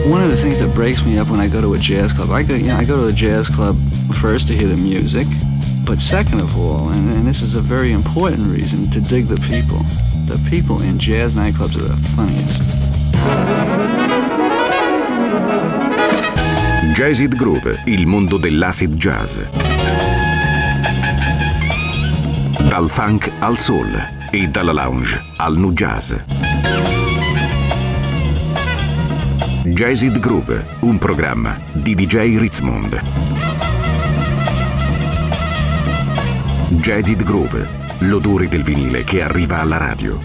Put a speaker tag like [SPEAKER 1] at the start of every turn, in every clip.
[SPEAKER 1] One of the things that breaks me up when I go to a jazz club, I go to a jazz club first to hear the music, but second of all, and this is a very important reason, to dig the people. The people in jazz nightclubs are the funniest.
[SPEAKER 2] Jazzid Groove, il mondo dell'acid jazz. Dal funk al soul e dalla lounge al nu jazz. Jazzid Groove, un programma di DJ Ritzmond. Jazzid Groove, l'odore del vinile che arriva alla radio.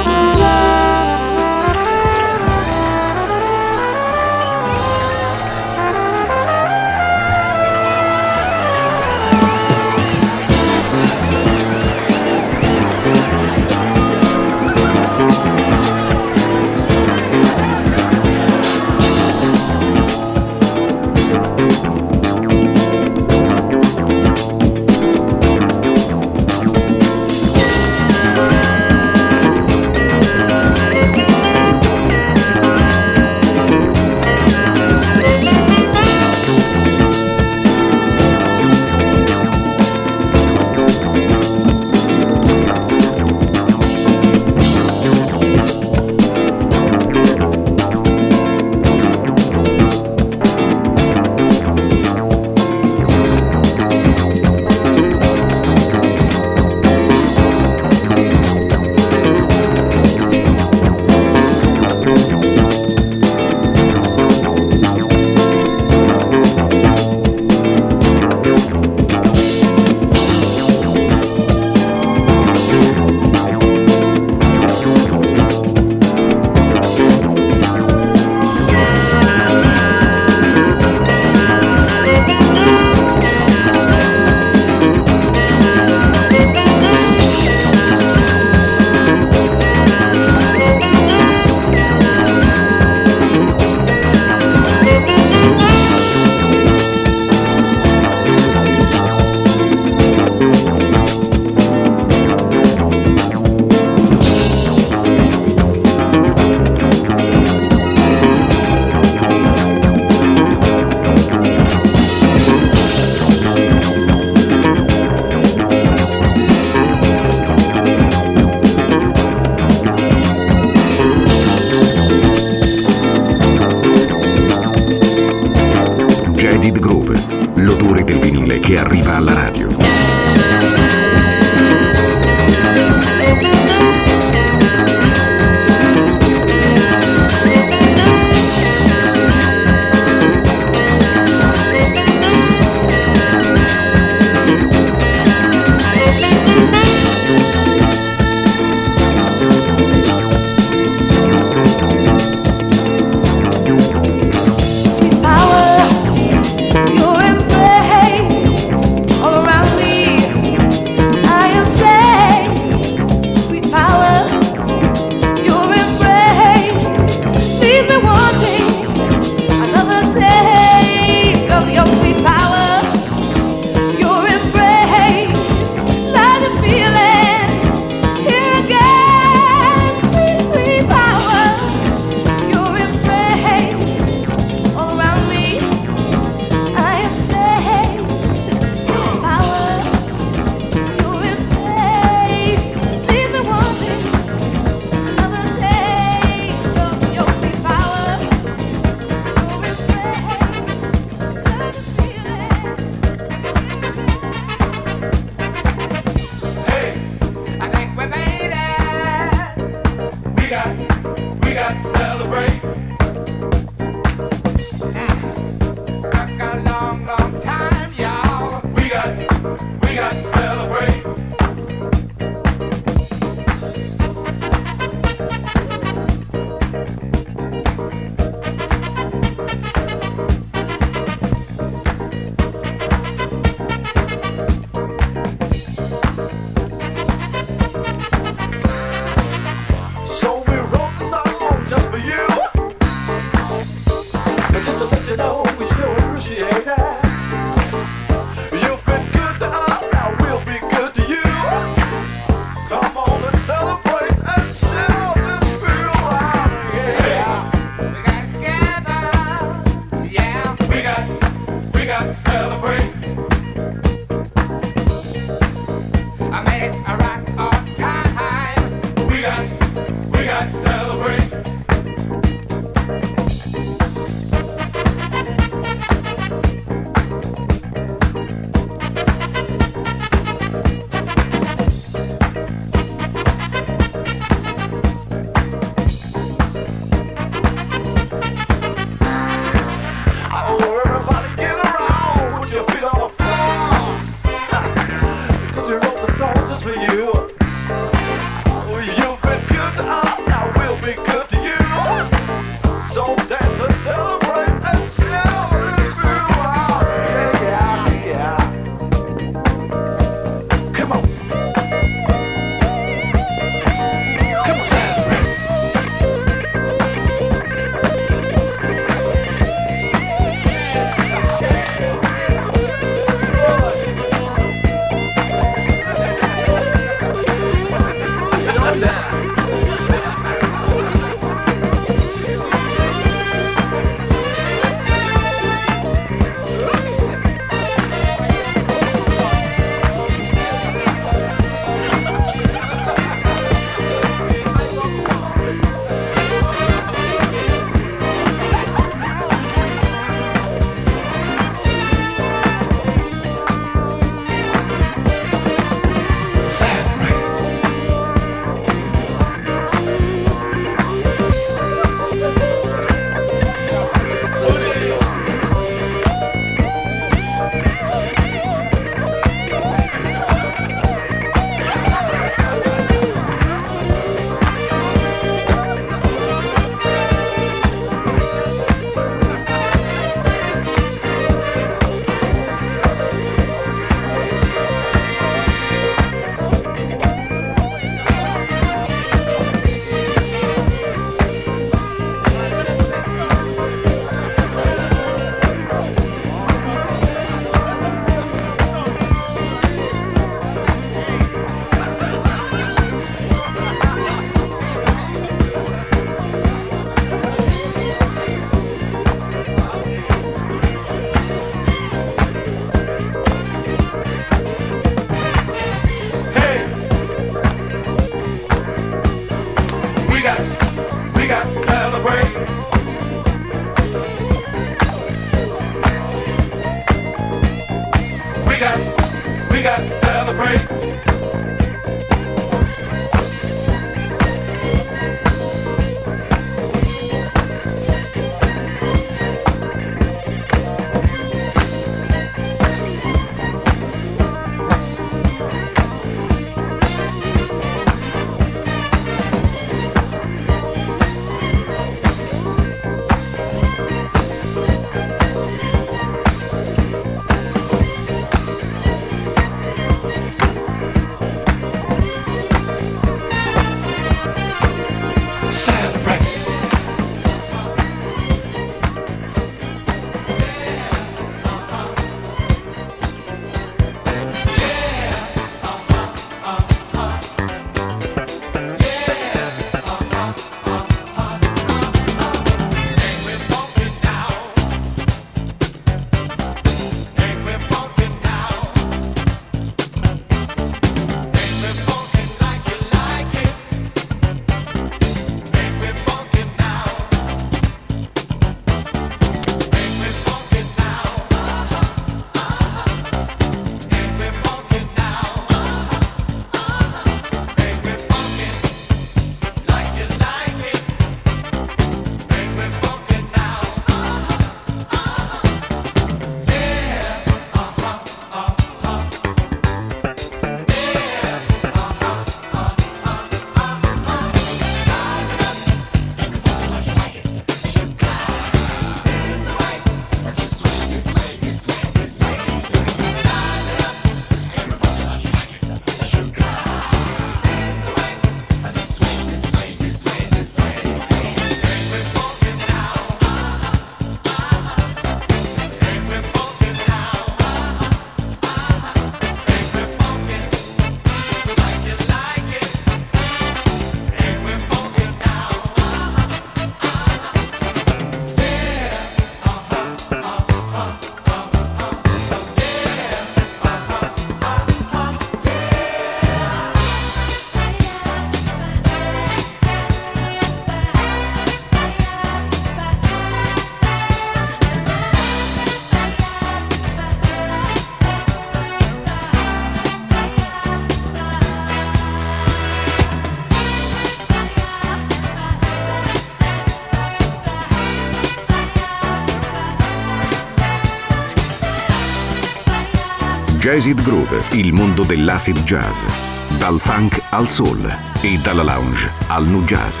[SPEAKER 2] Jazzid Groove, il mondo dell'acid jazz. Dal funk al soul e dalla lounge al nu jazz.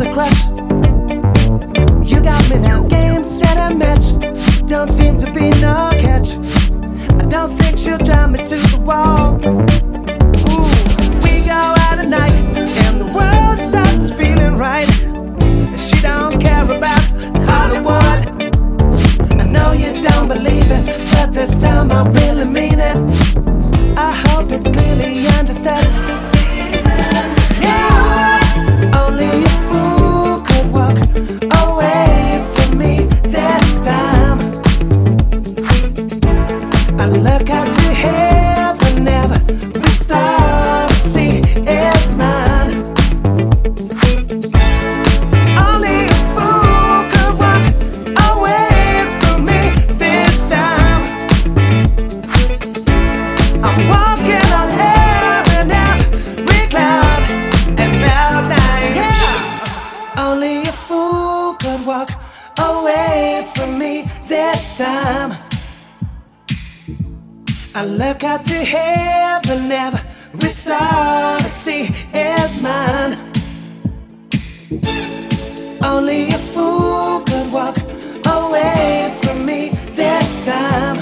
[SPEAKER 3] a crush. You got me now, game, set, and match. Don't seem to be no catch. I don't think she'll drive me to the wall. Ooh, we go out at night and the world starts feeling right. She don't care about Hollywood. I know you don't believe it, but this time I really mean it. I hope it's clearly understood. Yeah, only a fool could walk away from me this time. I look up to heaven, never restore. See, it's mine. Only a fool could walk away from me this time. I'm walking on air and every cloud. It's cloud nine. Yeah. Only a fool could walk away from me this time. I look up to heaven, never restore. See, it's mine. Only a fool could walk away from me this time.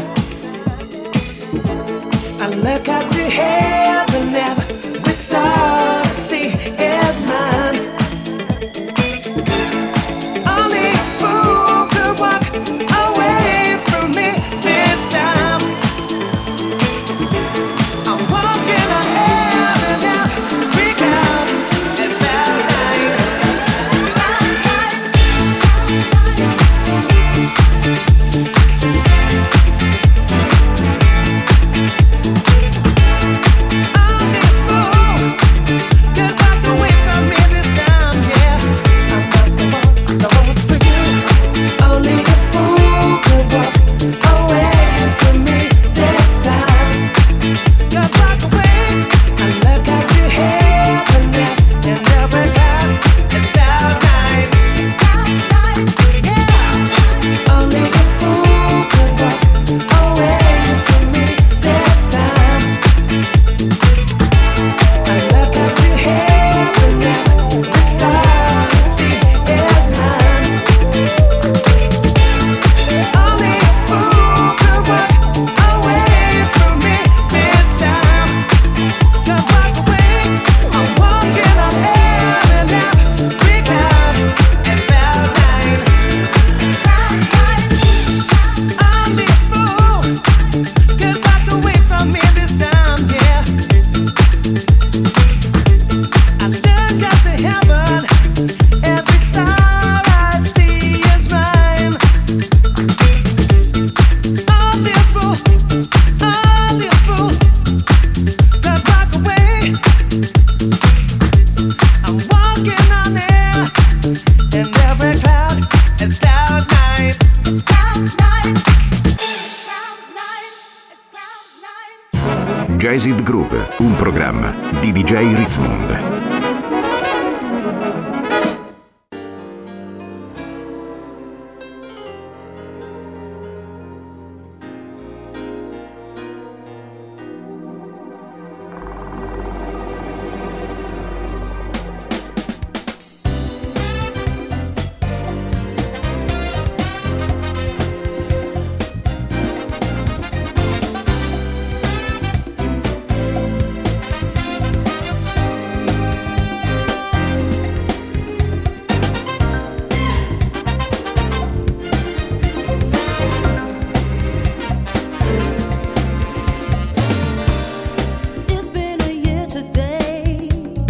[SPEAKER 3] I look up to heaven, never restore. See, it's mine. Only a fool could walk away from me this time. I'm walking on air and every cloud. It's that night. Only a fool could walk away from me this time, yeah. I'm not the one for you. Only a fool could walk away from me this time. Could walk away. I look up to heaven, yeah, and every cloud is cloud nine. Yeah. Only a fool could walk away from me this time. I look up to heaven, yeah, the stars see it's mine. Only a fool could walk away from me this time. Could walk away. I'm walking on air and every cloud. It's cloud nine. Only a fool could walk away from me this time, yeah. I look up to heaven, every star I see is mine. Only a fool could walk away. I'm walking on air, and every cloud is cloud nine. It's cloud nine. It's cloud nine. It's cloud nine.
[SPEAKER 2] Jazzed Groove, un programma di DJ Ritzmond.
[SPEAKER 4] It's been a year today,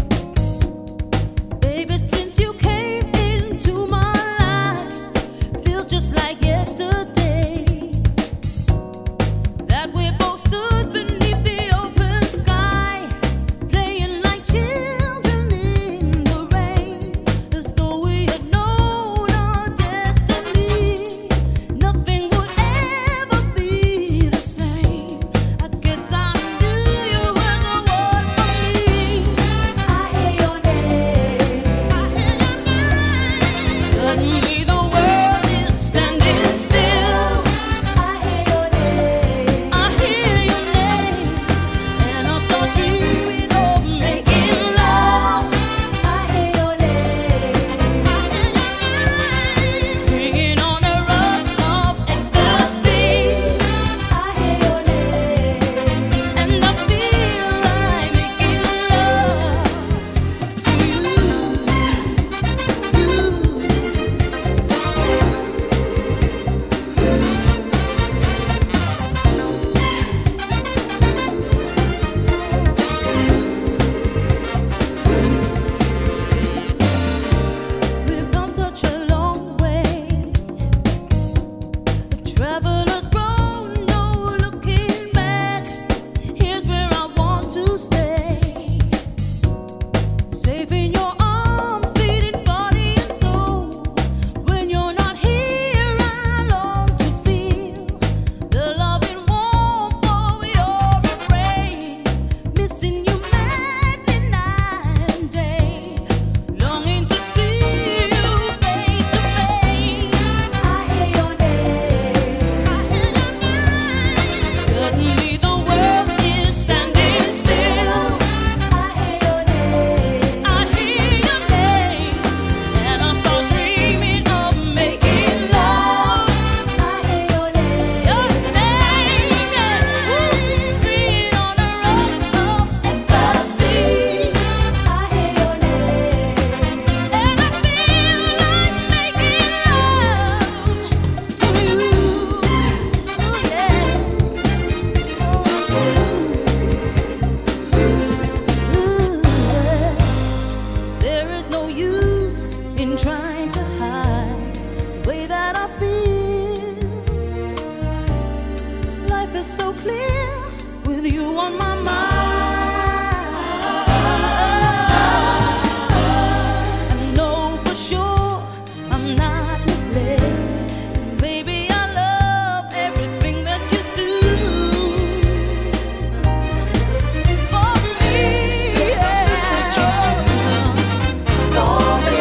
[SPEAKER 4] baby, since you came into my life. Feels just like yesterday that we both stood beneath the open sky, playing like children in the rain, as though we had known our destiny. Nothing would ever be the same. I guess I knew you were the one for me. I hear your name. I hear your name. Suddenly the world is standing still. I hear your name. I hear your name. And I'll start dreaming of making love. I hear your name. I clear with you on my mind. I know for sure I'm not misled. Baby, I love everything that you do for me. Yeah. For me.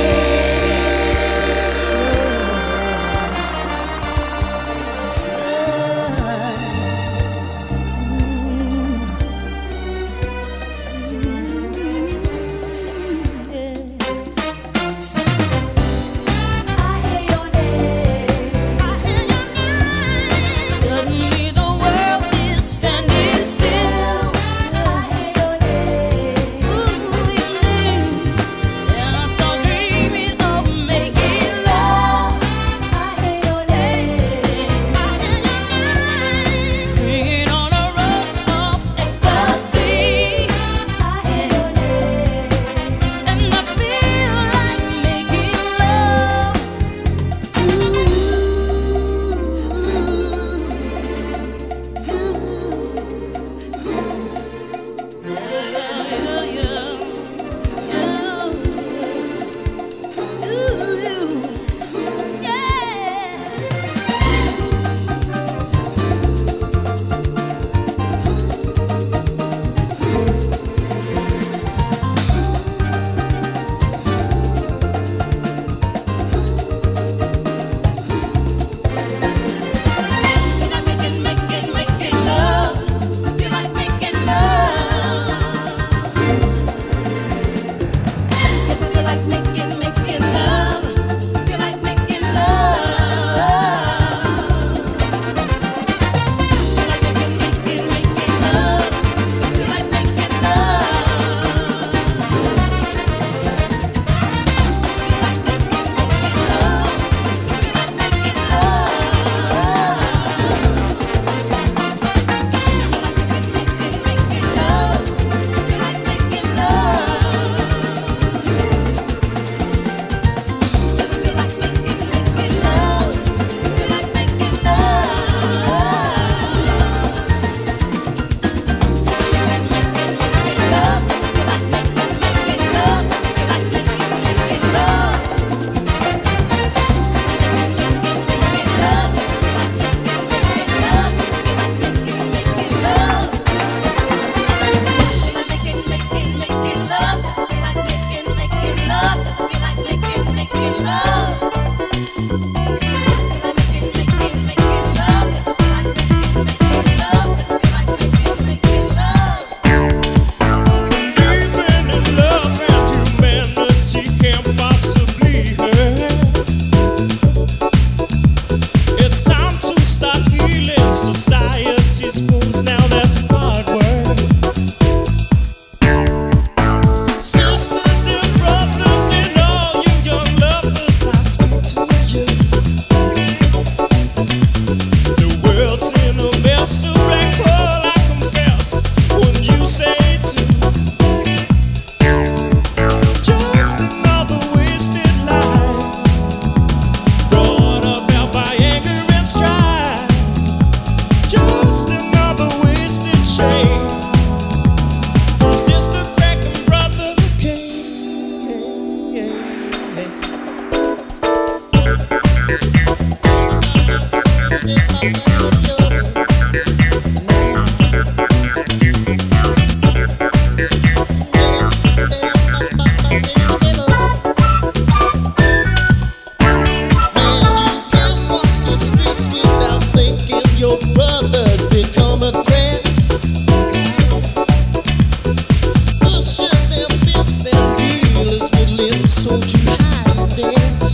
[SPEAKER 4] Suddenly the world is standing still. I hear your name. Ooh, your name. And I start dreaming of making love. I hear your name. I hear your name. Bringing on a rush of ecstasy. I hear your name. And I feel like making love to you. Making love. Feel like making love. Yes, I feel like making love. Feel like making love. Feel like making love. Feel like making love. Feel like making love. Feel like making
[SPEAKER 5] Believing in love and humanity can't possibly hurt. It's time to start healing society's wounds. Now that's hard work. Sisters and brothers and all you young lovers, I speak to you. The world's in a mess, a black hole, I confess. When you say to just another wasted life, brought about by anger and strife. Just another wasted shame. For sister crack and brother Cain. Your brothers become a threat. Pushers and pimps and dealers with limbs sold you high and debt.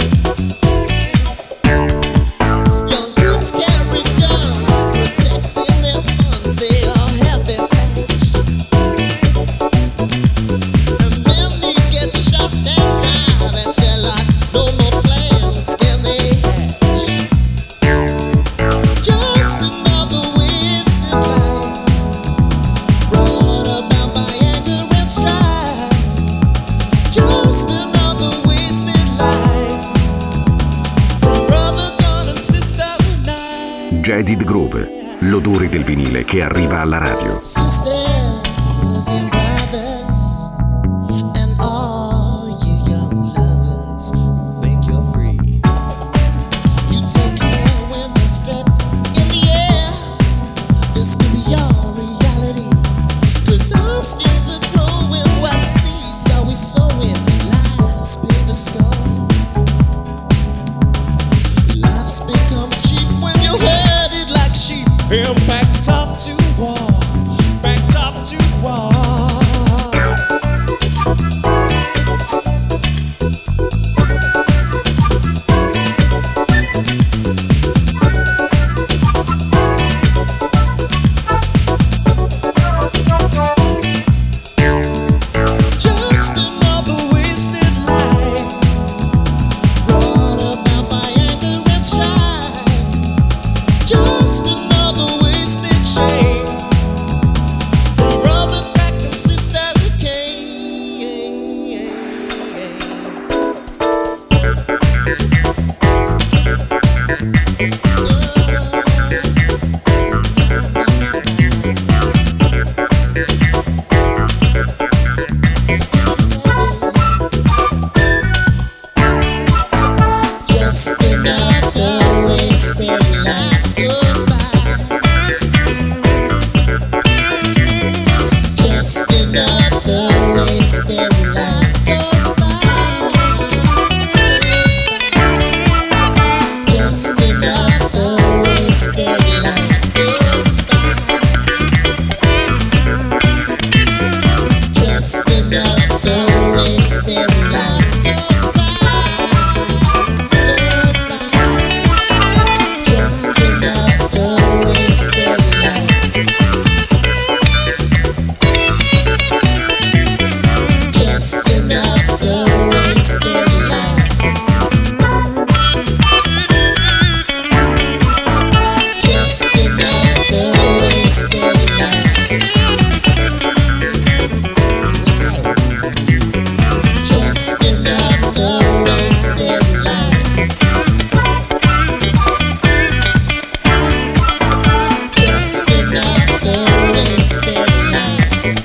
[SPEAKER 5] Young kids carry guns, protecting their funds. They all have their patch. And many get shot and die. That's their lot. No more plans can they hatch. Just another wasted life, brought about by anger and strife. Just another wasted life, from brother gun and sister night.
[SPEAKER 2] Jaded Groove, l'odore del vinile che arriva alla radio.
[SPEAKER 5] Sisters and brothers, and all you young lovers who think you're free. You take care when the stress in the air. This could be your reality. 'Cause upstairs are growing, what seeds are we sowing? Lives bear the scar. Life's become cheap when you're headed like sheep. And backed off to war, backed off to war. Just another wasted life, brought about by anger and strife. Just another wasted shame, from brother back and sister who came. Just another wasted life goes by. Just another wasted life goes by. Just another wasted life goes by. Just another wasted life goes by. Goes by. Just another wasted life. Just another wasted life. Just another wasted life. Just another wasted life. Just another wasted life.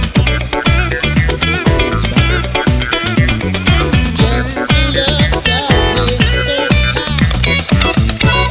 [SPEAKER 5] Just another wasted life.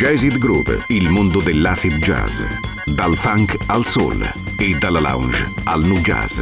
[SPEAKER 2] Jazz It Groove, il mondo dell'acid jazz. Dal funk al soul e dalla lounge al nu jazz.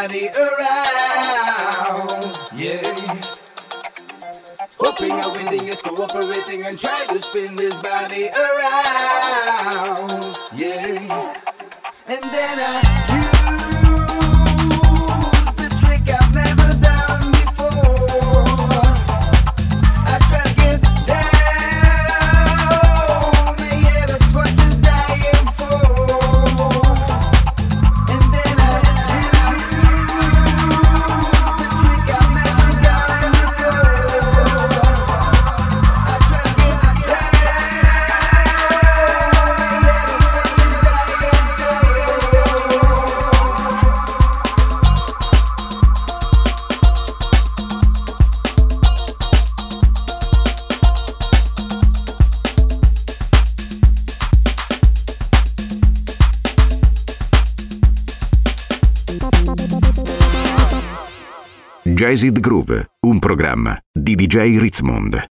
[SPEAKER 6] body around. Yeah. Hoping and winning is cooperating and try to spin this body around. Yeah. And then I use the trick I've never done before. I try to get down. Yeah, that's what you're dying for. And then I use the trick I've never done before. I try to get down.
[SPEAKER 2] Jazzed Groove, un programma di DJ Ritzmond.